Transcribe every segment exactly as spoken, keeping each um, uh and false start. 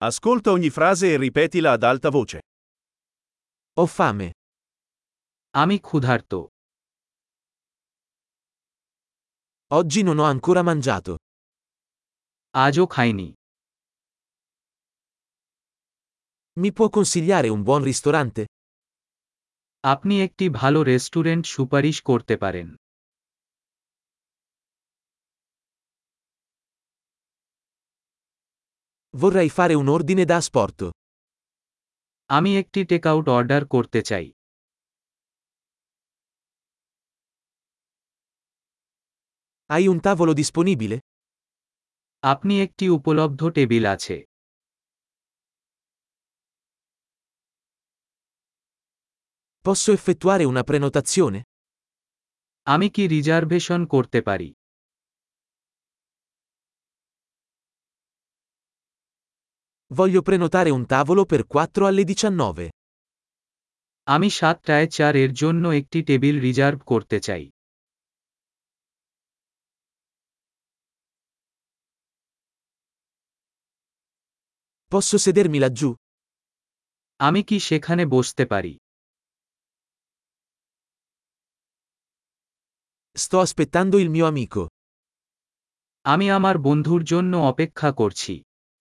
Ascolta ogni frase e ripetila ad alta voce. Ho fame. আমি ক্ষুধার্ত। Oggi non ho ancora mangiato. আজও খাইনি। Mi può consigliare un buon ristorante? আপনি একটি ভালো রেস্টুরেন্ট সুপারিশ করতে পারেন। Vorrei fare un ordine da asporto. আমি একটি টেকআউট অর্ডার করতে চাই। Hai un tavolo disponibile? আপনি একটি উপলব্ধ টেবিল আছে। Posso effettuare una prenotazione? আমি কি রিজার্ভেশন করতে পারি? Voglio prenotare un tavolo per quattro alle diciannove. আমি সাতটায় চার এর জন্য একটি টেবিল রিজার্ভ করতে চাই। Posso sedermi laggiù? আমি কি সেখানে বসতে পারি? Sto aspettando il mio amico. আমি আমার বন্ধুর জন্য অপেক্ষা করছি।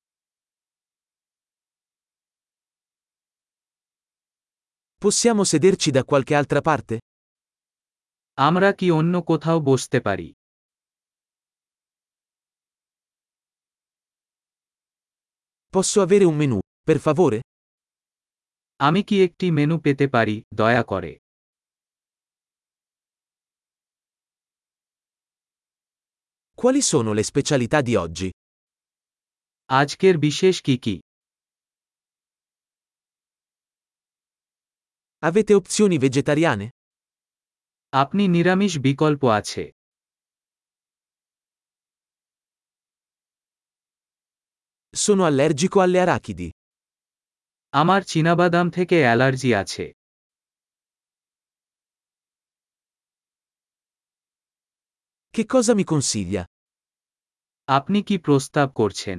Possiamo sederci da qualche altra parte? আমরা কি অন্য কোথাও বসতে পারি? Posso avere un menù, per favore? আমি কি একটি মেনু পেতে পারি, দয়া করে? Quali sono le specialità di oggi? আজকের বিশেষ কি কি? Avete opzioni vegetariane? আপনি নিরামিষ বিকল্প আছে। Sono allergico alle arachidi. আমার চীনাবাদাম থেকে অ্যালার্জি আছে। Che cosa mi consiglia? আপনি কি প্রস্তাব করছেন?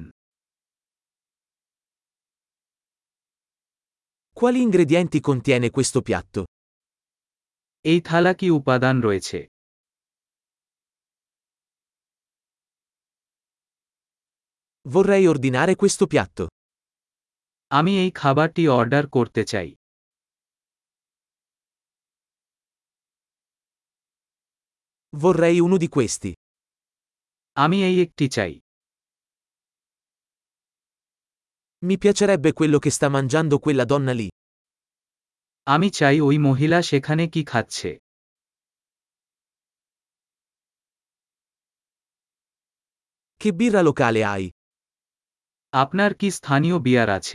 Quali ingredienti contiene questo piatto? এই থালা কি উপাদান রয়েছে? Vorrei ordinare questo piatto. আমি এই খাবারটি অর্ডার করতে চাই। Vorrei uno di questi. আমি এই একটি চাই। Mi piacerebbe quello che sta mangiando quella donna lì. আমি চাই ওই মহিলা সেখানে কি খাচ্ছে। Che birra locale hai? আপনার কি স্থানীয় বিয়ার আছে?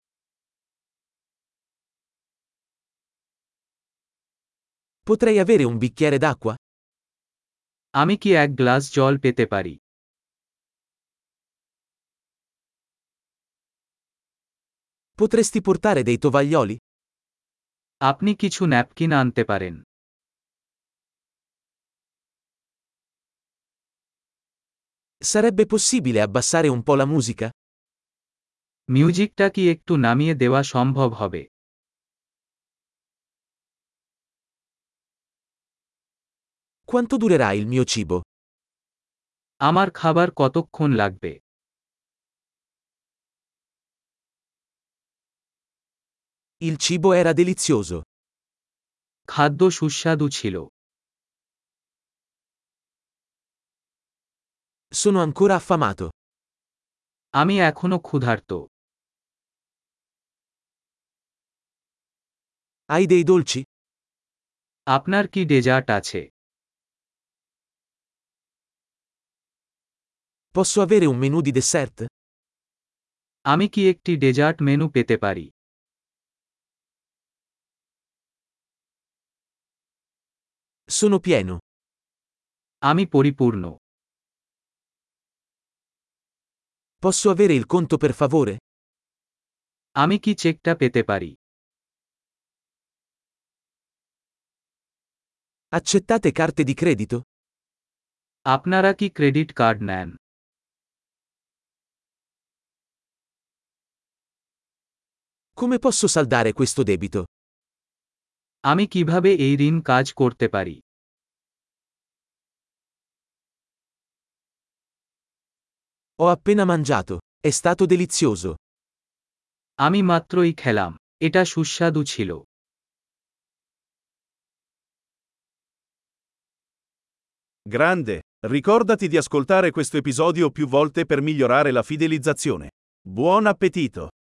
Potrei avere un bicchiere d'acqua? আমি কি এক গ্লাস জল পেতে পারি? Potresti portare dei tovaglioli? আপনি কিছু ন্যাপকিন আনতে পারেন। Sarebbe possibile abbassare un po' la musica? মিউজিকটা কি একটু নামিয়ে দেওয়া সম্ভব হবে? Quanto durerà il mio cibo? আমার খাবার কতক্ষণ লাগবে? Il cibo era delizioso. খাদ্য সুস্বাদু ছিল। Sono ancora affamato. আমি এখনো ক্ষুধার্ত। Hai dei dolci? আপনার কি ডেজার্ট আছে? Posso avere un menù di dessert? আমি কি একটি ডেজার্ট মেনু পেতে পারি? Sono pieno. আমি পরিপূর্ণ। Posso avere il conto per favore? আমি কি চেকটা পেতে পারি? Accettate carte di credito? আপনারা কি ক্রেডিট কার্ড নেন? Come posso saldare questo debito? আমি কিভাবে এই ঋণ কাজ করতে পারি? Ho appena mangiato. È stato delizioso. আমি মাত্রই খেলাম। এটা সুস্বাদু ছিল। Grande! Ricordati di ascoltare questo episodio più volte per migliorare la fidelizzazione. Buon appetito!